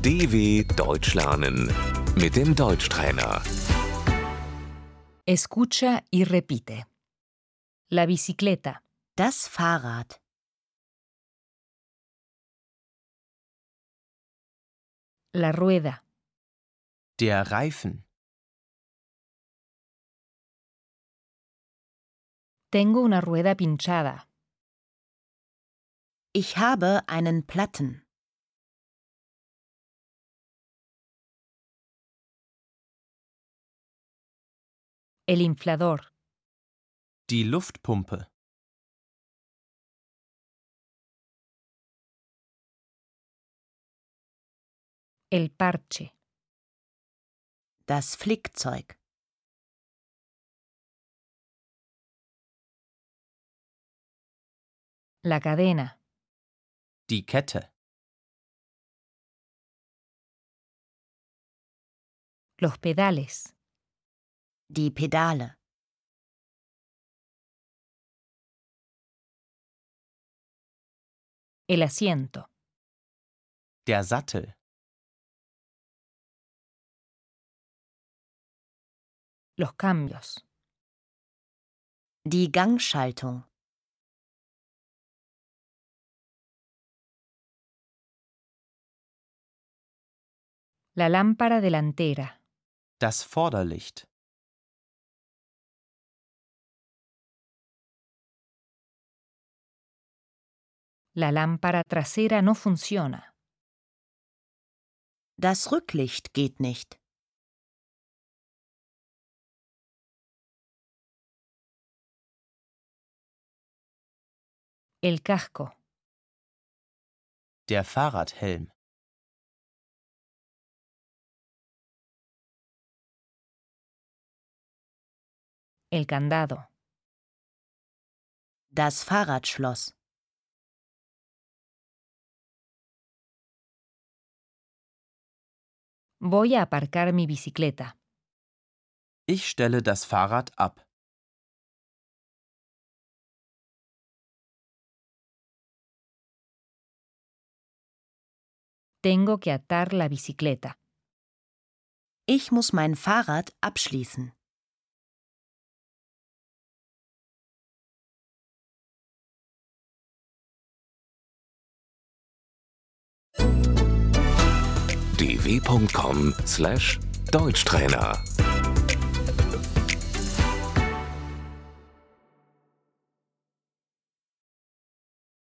DW Deutsch lernen mit dem Deutschtrainer. Escucha y repite. La bicicleta, Das Fahrrad, la rueda, Der Reifen. tengo una rueda pinchada, ich habe einen Platten, el inflador, Die Luftpumpe. el parche, das Flickzeug, la cadena, Die Kette. los pedales, die Pedale, el asiento, Der Sattel. los cambios, die Gangschaltung, la lámpara delantera, Das Vorderlicht. la lámpara trasera no funciona, das Rücklicht geht nicht, el casco, Der Fahrradhelm. el candado, das Fahrradschloss, voy a aparcar mi bicicleta, Ich stelle das Fahrrad ab. tengo que atar la bicicleta, ich muss mein Fahrrad abschließen. dw.com/Deutschtrainer